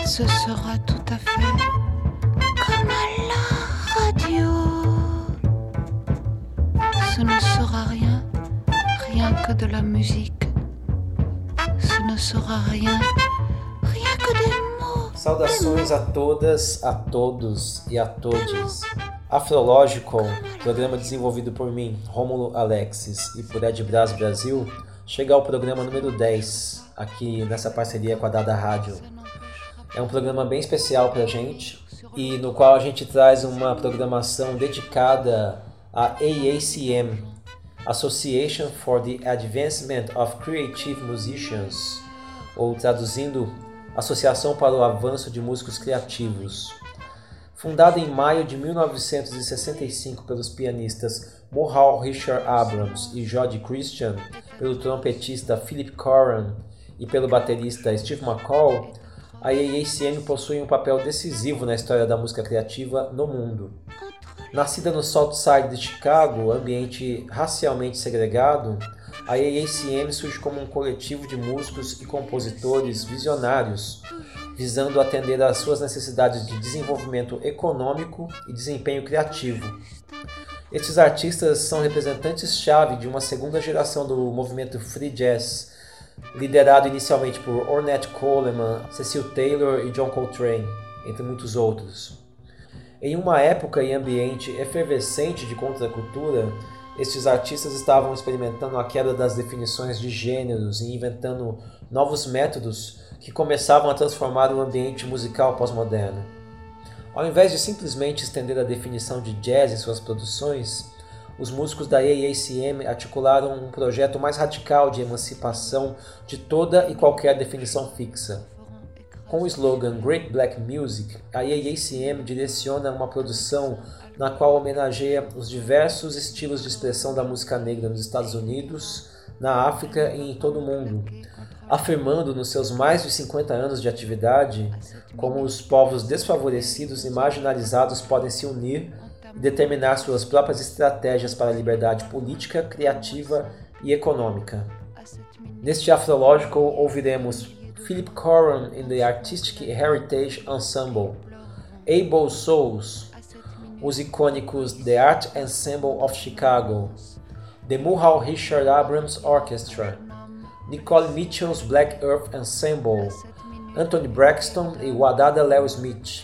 ce sera tout à fait comme à la radio. Ce ne sera rien que de la musique. Ce ne sera rien que des mots. Saudações a todas, a todos e a todes. Afrológico, programa desenvolvido por mim, Rômulo Alexis, e por Ed Braz Brasil, chega ao programa número 10, aqui nessa parceria com a Dada Rádio. É um programa bem especial pra gente, e no qual a gente traz uma programação dedicada à AACM, Association for the Advancement of Creative Musicians, ou traduzindo, Associação para o Avanço de Músicos Criativos. Fundada em maio de 1965 pelos pianistas Mohau Richard Abrams e Jody Christian, pelo trompetista Philip Coran e pelo baterista Steve McCall, a AACM possui um papel decisivo na história da música criativa no mundo. Nascida no South Side de Chicago, ambiente racialmente segregado, a AACM surge como um coletivo de músicos e compositores visionários, visando atender às suas necessidades de desenvolvimento econômico e desempenho criativo. Estes artistas são representantes-chave de uma segunda geração do movimento free jazz, liderado inicialmente por Ornette Coleman, Cecil Taylor e John Coltrane, entre muitos outros. Em uma época e ambiente efervescente de contracultura, estes artistas estavam experimentando a quebra das definições de gêneros e inventando novos métodos que começavam a transformar o ambiente musical pós-moderno. Ao invés de simplesmente estender a definição de jazz em suas produções, os músicos da AACM articularam um projeto mais radical de emancipação de toda e qualquer definição fixa. Com o slogan Great Black Music, a AACM direciona uma produção na qual homenageia os diversos estilos de expressão da música negra nos Estados Unidos, na África e em todo o mundo, afirmando nos seus mais de 50 anos de atividade como os povos desfavorecidos e marginalizados podem se unir e determinar suas próprias estratégias para a liberdade política, criativa e econômica. Neste Afrológico ouviremos Philip Coran in the Artistic Heritage Ensemble, Able Souls, os icônicos The Art Ensemble of Chicago, The Mohau Richard Abrams Orchestra, Nicole Mitchell's Black Earth Ensemble, Anthony Braxton e Wadada Leo Smith,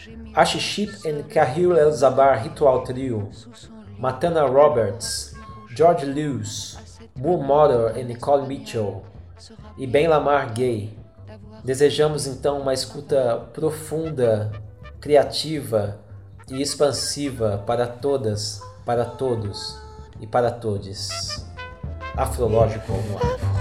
Ashiship and Kahil El-Zabar Ritual Trio, Matana Roberts, George Lewis, Moore Mother e Nicole Mitchell, e Ben Lamar Gay. Desejamos então uma escuta profunda, criativa e expansiva para todas, para todos e para todes. Afrológico no ar.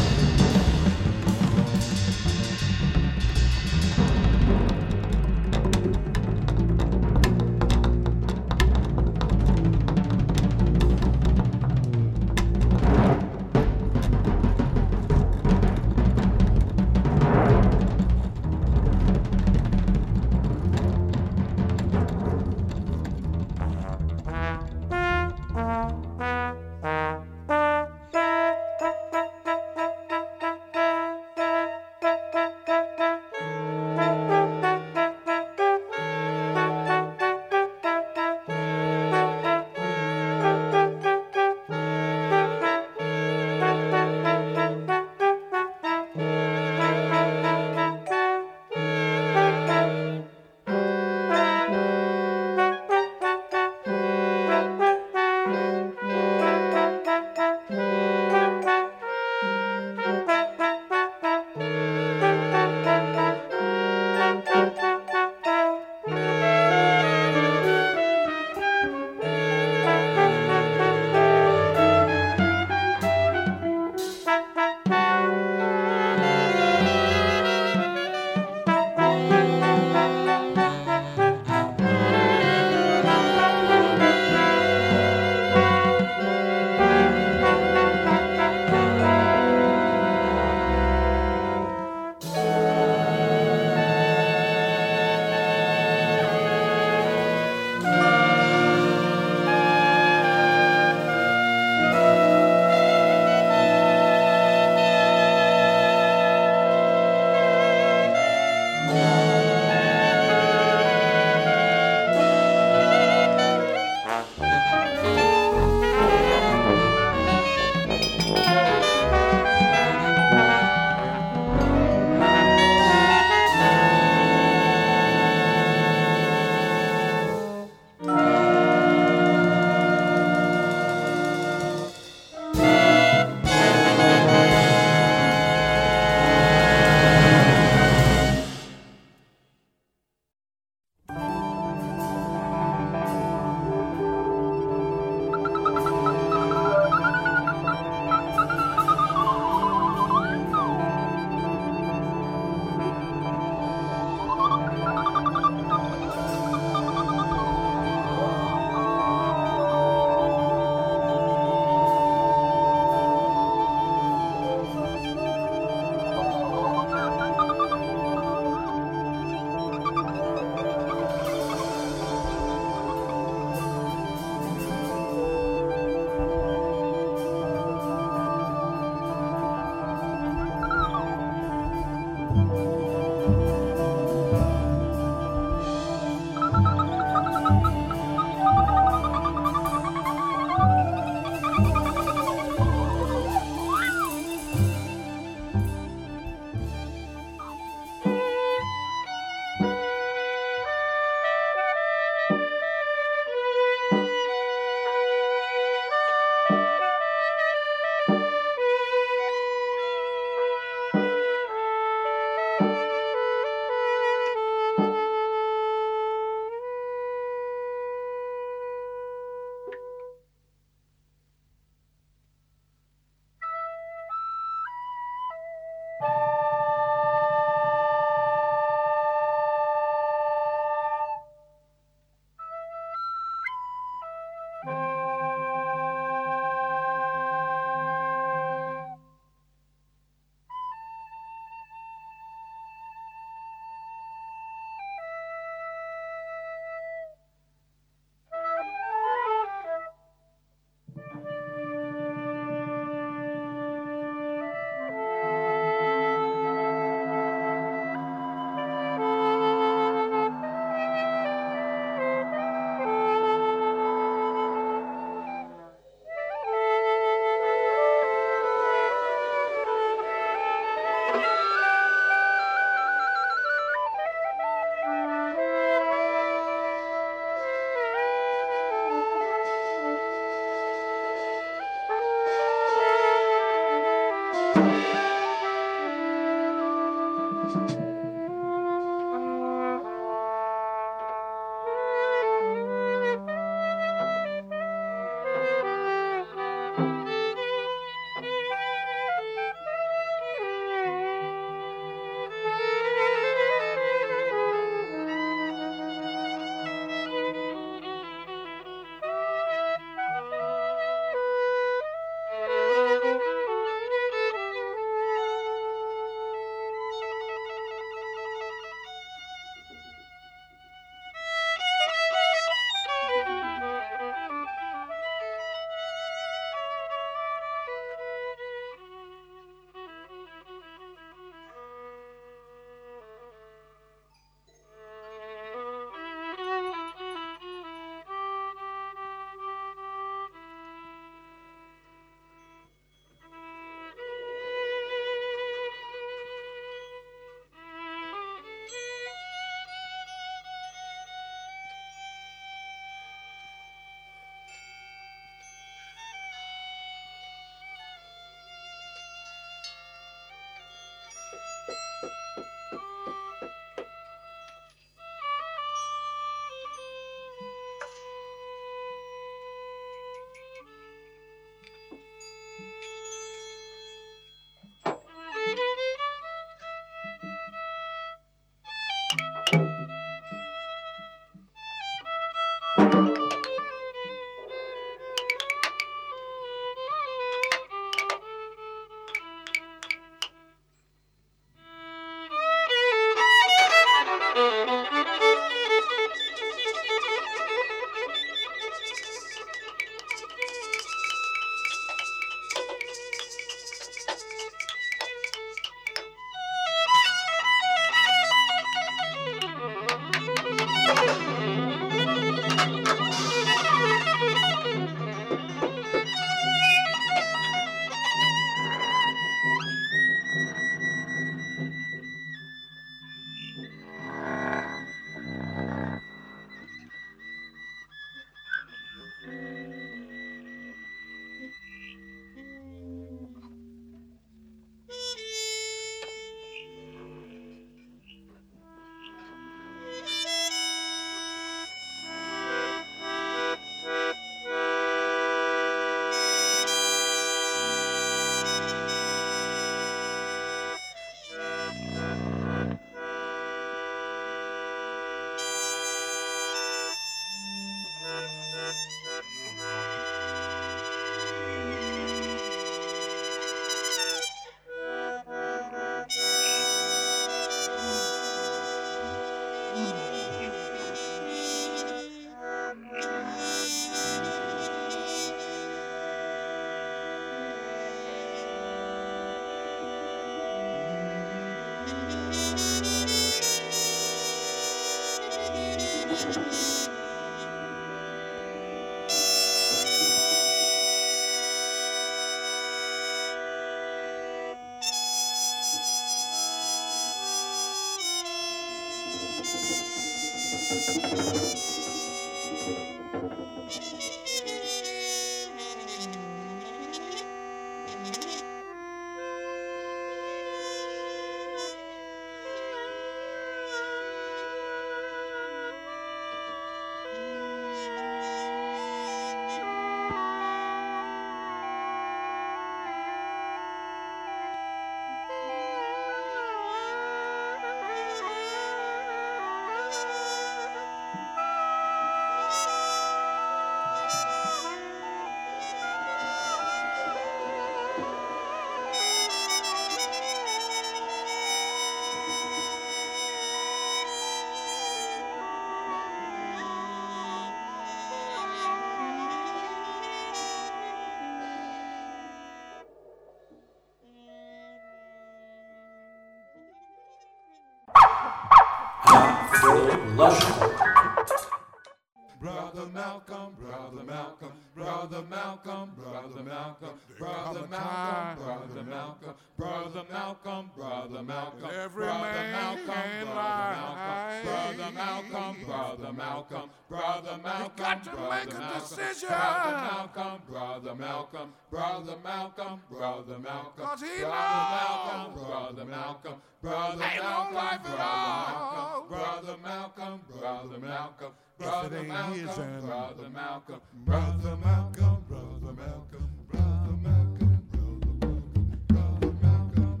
Lógico. Brother Malcolm, Brother Malcolm, Brother Malcolm, Brother Malcolm, Brother Malcolm, Brother Malcolm, Brother Malcolm, Brother Malcolm, Every Brother man Malcolm, in Brother Malcolm, life. Brother Malcolm, Brother Malcolm, got to Brother make a Malcolm, decision. Brother Malcolm, Brother Malcolm, Brother Malcolm, Brother Malcolm, 'Cause he Brother knows Malcolm, Brother Malcolm, Brother ain't no Malcolm, life at all. Brother Malcolm, Brother Malcolm, If it Brother ain't Malcolm, his and Brother Malcolm, Brother Malcolm, Brother Malcolm, Brother Malcolm, Brother Malcolm,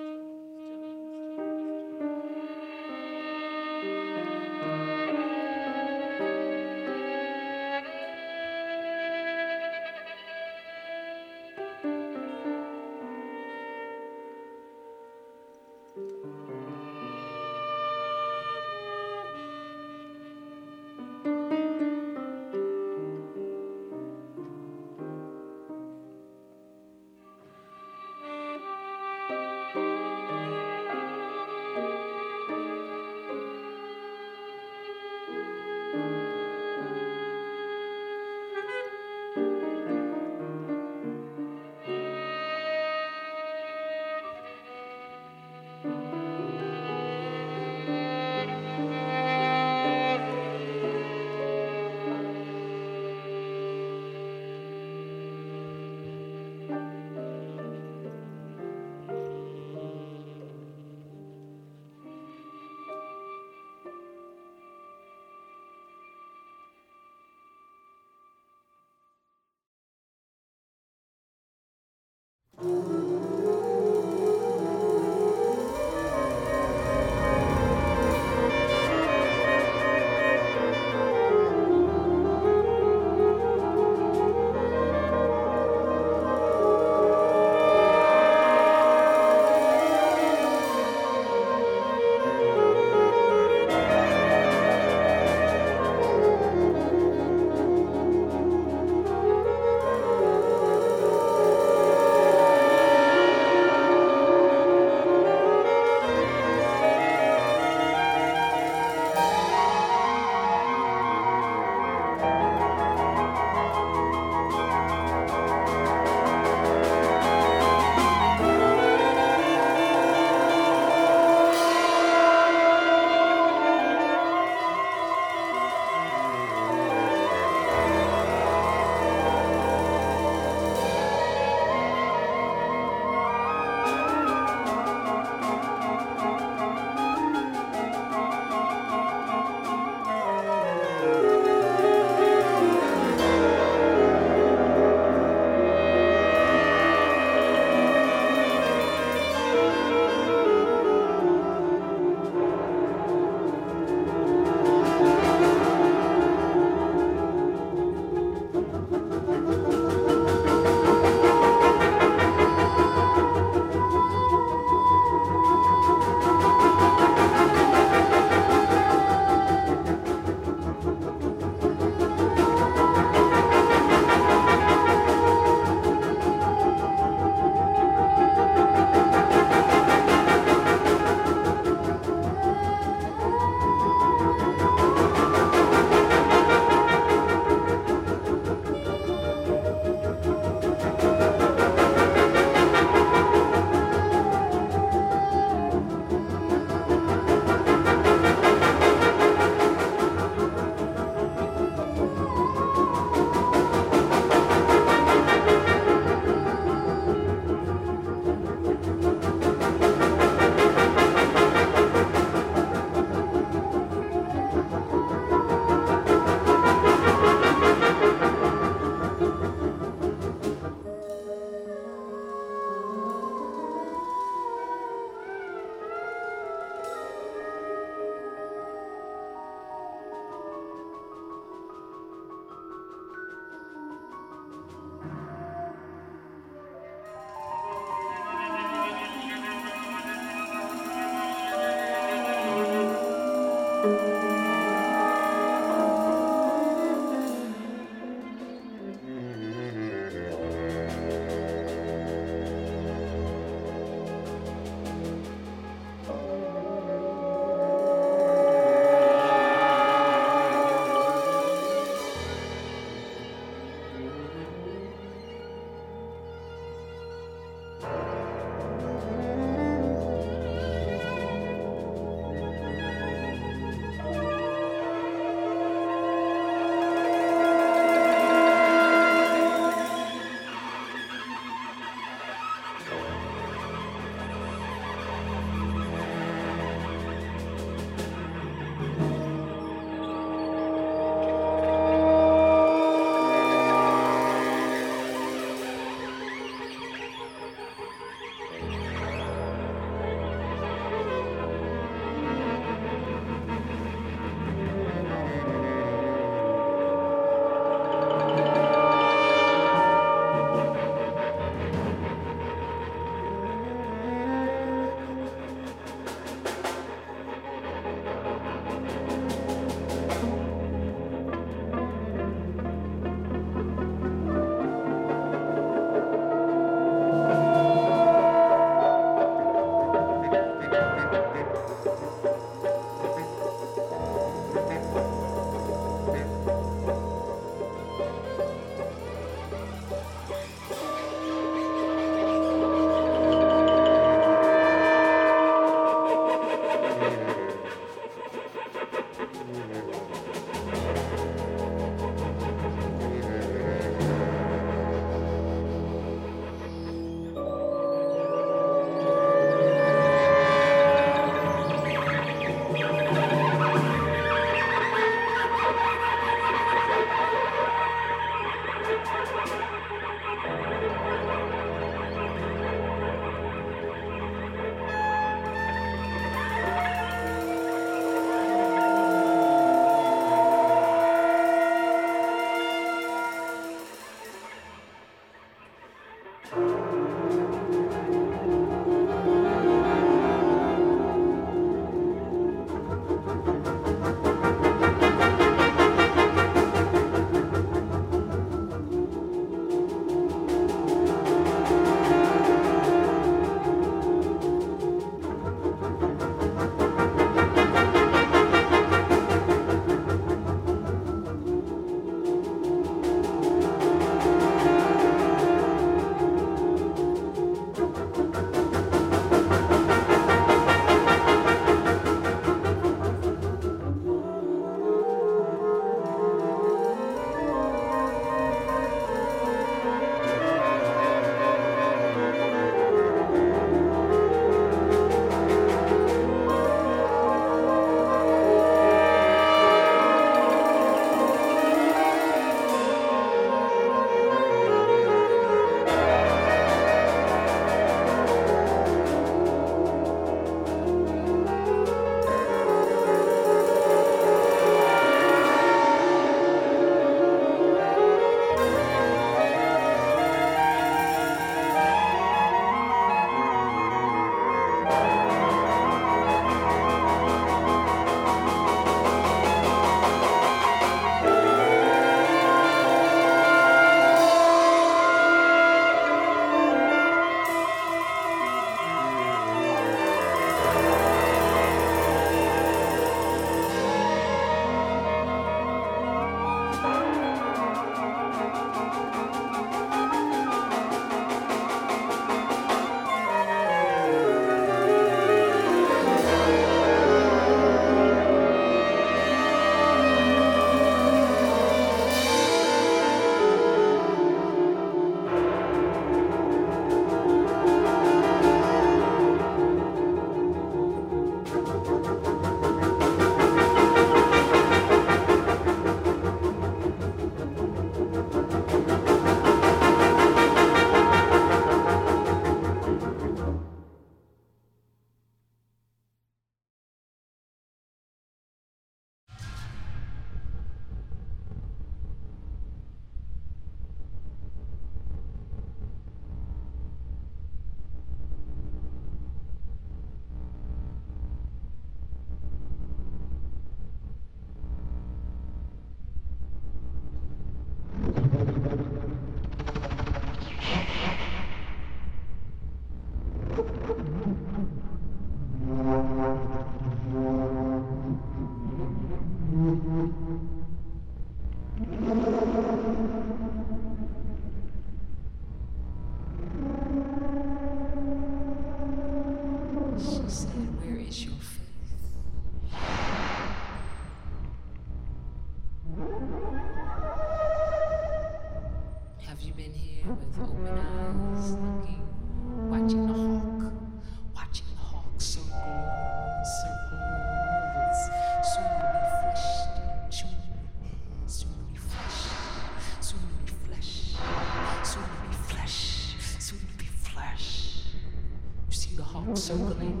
Have you been here with open eyes, looking, watching the hawk circle, circles, soon to be fleshed, soon to be flesh, soon to be flesh, soon to be flesh, soon to be flesh. You see the hawk circling?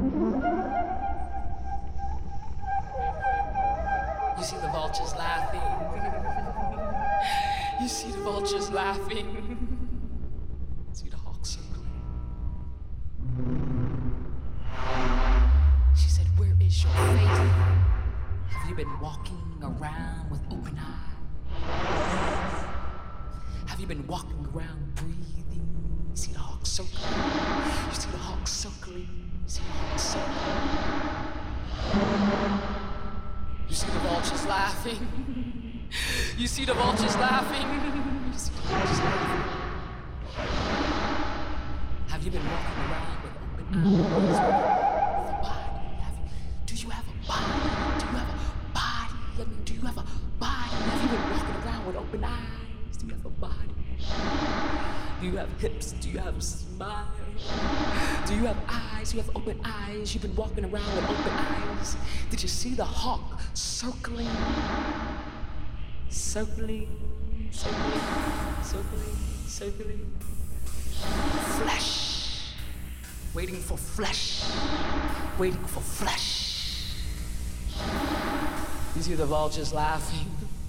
You see the vultures laughing. You see the vultures laughing. See the hawk circling. She said, where is your fate? Have you been walking around with open eyes? Have you been walking around breathing? You see the hawk circling. You see the hawk circling. You see the hawk circling. You see the vultures laughing. You see the vultures laughing. You see the vultures laughing. Have you been walking around with open eyes? With a body? Do you have a body? Do you have a body? I mean, do you have a body? Have you been walking around with open eyes? Do you have a body? Do you have hips? Do you have a smile? Do you have eyes? Do you have open eyes? You've been walking around with open eyes. Did you see the hawk circling? Circling, circling, circling, circling. Flesh. Waiting for flesh. Waiting for flesh. You see the vultures laughing.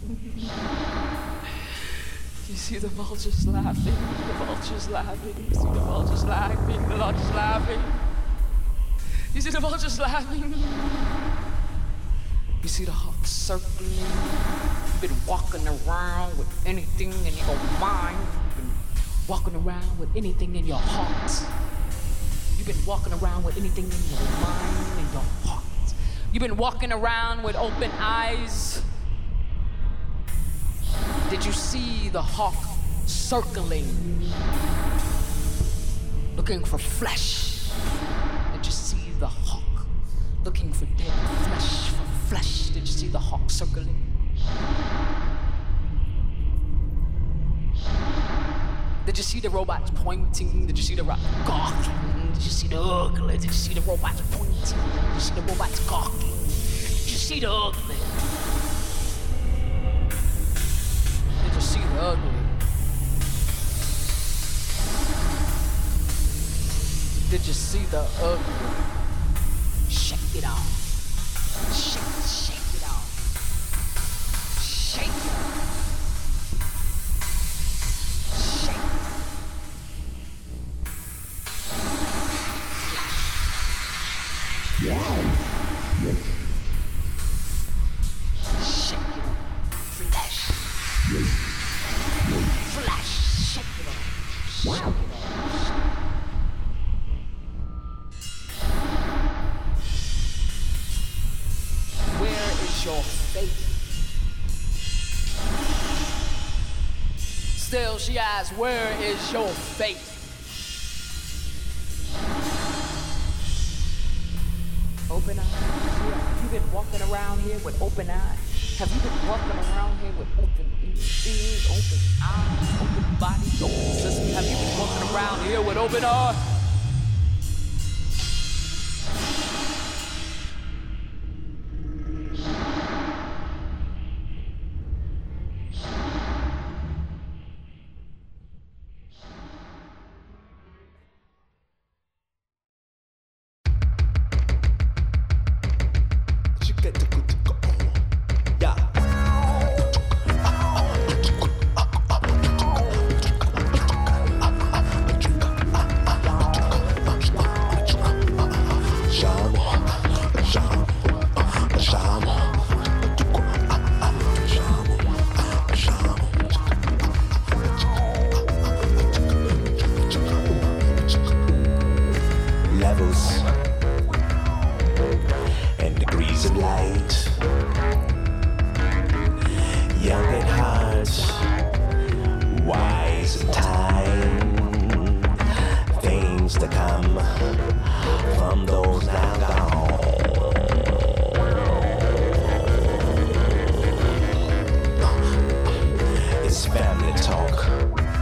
You see the vultures laughing. The vultures laughing. You see the vultures laughing. The vultures laughing. You see the vultures laughing. You see the hawk circling. You've been walking around with anything in your mind. You've been walking around with anything in your heart. You've been walking around with anything in your mind and your heart. You've been walking around with open eyes. Did you see the hawk circling? Looking for flesh. Did you see the hawk looking for dead flesh? For flesh. Did you see the hawk circling? Did you see the robots pointing? Did you see the robots gawking? Did you see the ugly? Did you see the robots pointing? Did you see the robots gawking? Did you see the ugly? Did you see the ugly? Did you see the ugly? Shake it off. Shake it off. Shake it off. Still, she asks, where is your faith? Open eyes. Have you been walking around here with open eyes? Have you been walking around here with open ears, open eyes, open body, open system? Have you been walking around here with open eyes? Family talk.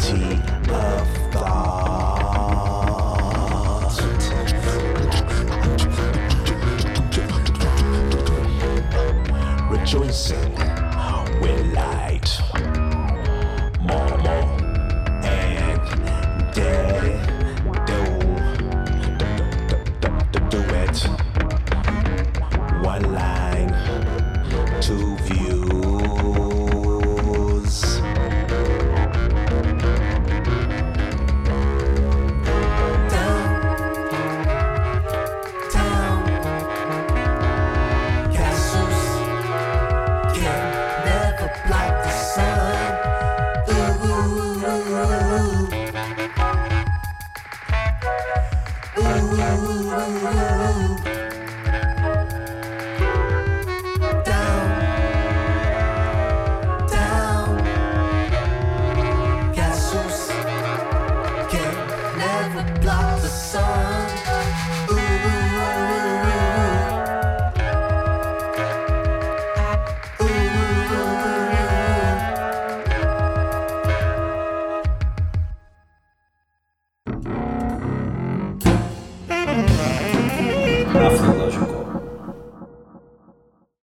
Unity of thought. Rejoicing